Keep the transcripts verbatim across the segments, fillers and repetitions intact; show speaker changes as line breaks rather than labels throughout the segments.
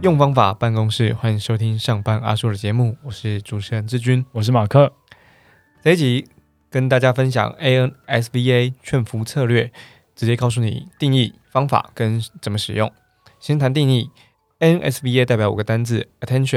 用方法办公室，欢迎收听上班阿叔的节目，我是主持人志军，
我是马克。
这一集跟大家分享 A N S V A 劝服策略，直接告诉你定义、方法跟怎么使用。先谈定义 ，A N S V A 代表五个单字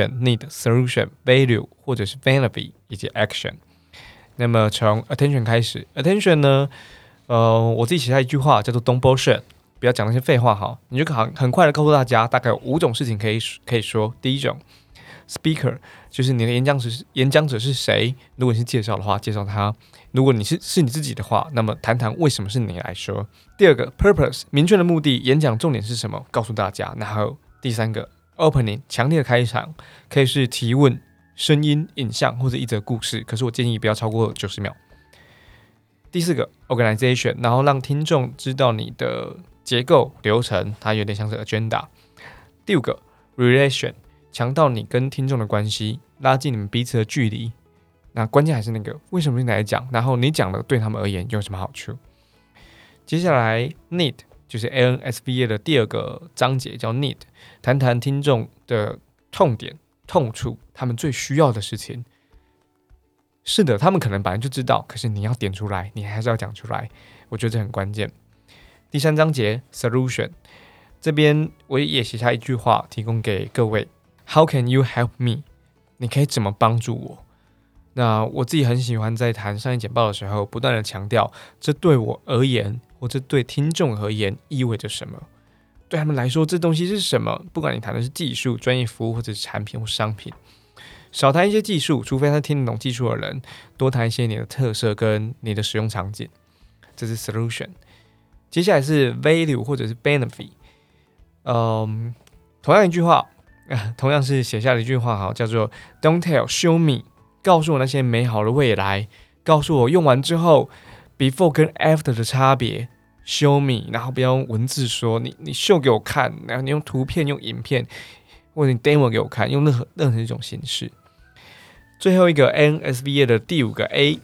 ：attention、need、solution、value 或者是 benefit 以及 action。那么从 attention 开始 ，attention 呢，呃，我自己写下一句话叫做 "Don't bullshit"。不要讲那些废话哈，你就很很快的告诉大家，大概有五种事情可以可以说。第一种 ，speaker 就是你的演讲者演讲者是谁？如果你是介绍的话，介绍他；如果你是是你自己的话，那么谈谈为什么是你来说。第二个 ，purpose 明确的目的，演讲重点是什么？告诉大家。然后第三个 ，opening 强烈的开场，可以是提问、声音、影像或者一则故事，可是我建议不要超过九十秒。第四个 ，organization， 然后让听众知道你的结构流程，它有点像是 agenda。第五个 relation， 强调你跟听众的关系，拉近你们彼此的距离。那关键还是那个为什么你来讲，然后你讲的对他们而言有什么好处。接下来 need 就是 A N S V A 的第二个章节叫 need， 谈谈听众的痛点、痛处，他们最需要的事情。是的，他们可能本来就知道，可是你要点出来，你还是要讲出来，我觉得这很关键。第三章节 solution， 这边我也写下一句话提供给各位 How can you help me？ 你可以怎么帮助我？那我自己很喜欢在谈商业简报的时候不断的强调，这对我而言或者对听众而言意味着什么，对他们来说这东西是什么。不管你谈的是技术、专业服务或者是产品或商品，少谈一些技术，除非他听得懂技术的人，多谈一些你的特色跟你的使用场景，这是 solution。接下来是 value 或者是 benefit， 嗯，同样一句话，呃、同样是写下了一句话好，叫做 Don't tell, show me， 告诉我那些美好的未来，告诉我用完之后 before 跟 after 的差别 ，show me， 然后不要用文字说，你你秀给我看，然后你用图片、用影片，或者你 demo 给我看，用任何任何一种形式。最后一个 A N S V A 的第五个 A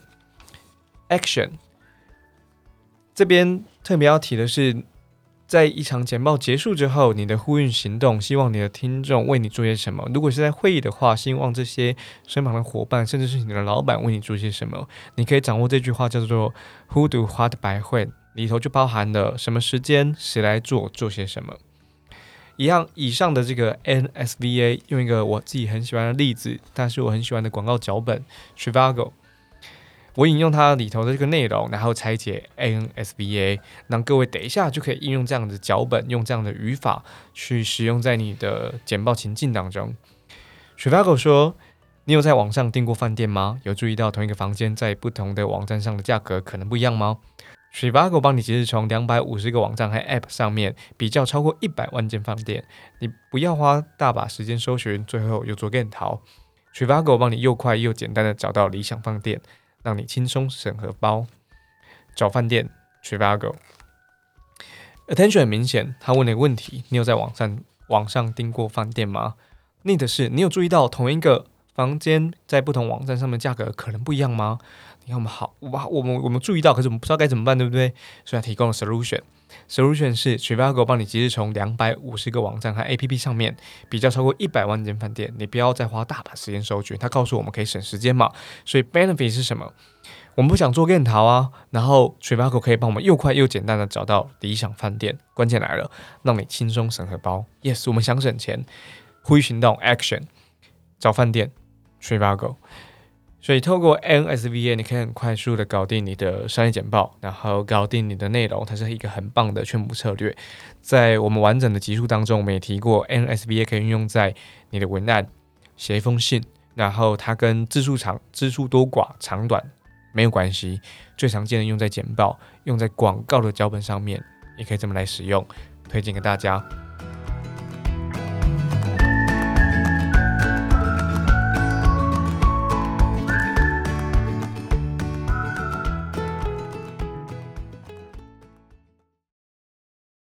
action， 这边特别要提的是，在一场简报结束之后，你的呼应行动，希望你的听众为你做些什么。如果是在会议的话，希望这些身旁的伙伴，甚至是你的老板为你做些什么。你可以掌握这句话叫做 Who do what by when， 里头就包含了什么时间，谁来做，做些什么。一样，以上的这个 A N S V A 用一个我自己很喜欢的例子，但是我很喜欢的广告脚本 Trivago， 我引用它里头的这个内容，然后拆解 A N S V A， 让各位等一下就可以应用这样的脚本，用这样的语法去使用在你的简报情境当中。Trivago 说，你有在网上订过饭店吗？有注意到同一个房间在不同的网站上的价格可能不一样吗？Trivago 帮你即日从两百五十个网站和 App 上面比较超过一百万间饭店，你不要花大把时间搜寻，最后又做更逃。Trivago 帮你又快又简单的找到理想饭店，让你轻松省荷包。找饭店 Trivago。 Attention 很明显，他问了一个问题，你有在网上网上订过饭店吗？ Need 是你有注意到同一个房间在不同网站上面价格可能不一样吗？你看我们好，我们我们注意到，可是我们不知道该怎么办，对不对？所以他提供了 solution。solution 是 Trivago 帮你即日从两百五十个网站和 A P P 上面比较超过一百万间饭店，你不要再花大把时间搜寻。他告诉我们可以省时间嘛，所以 benefit 是什么？我们不想做更逃啊，然后 Trivago 可以帮我们又快又简单的找到理想饭店。关键来了，让你轻松省荷包。Yes， 我们想省钱，呼吁行动 action， 找饭店 Trivago。所以透过 A N S V A， 你可以很快速的搞定你的商业简报，然后搞定你的内容，它是一个很棒的劝服策略。在我们完整的集数当中，我们也提过 A N S V A 可以运用在你的文案，写一封信，然后它跟字数长、字数多寡、长短没有关系，最常见的用在简报，用在广告的脚本上面，也可以这么来使用，推荐给大家。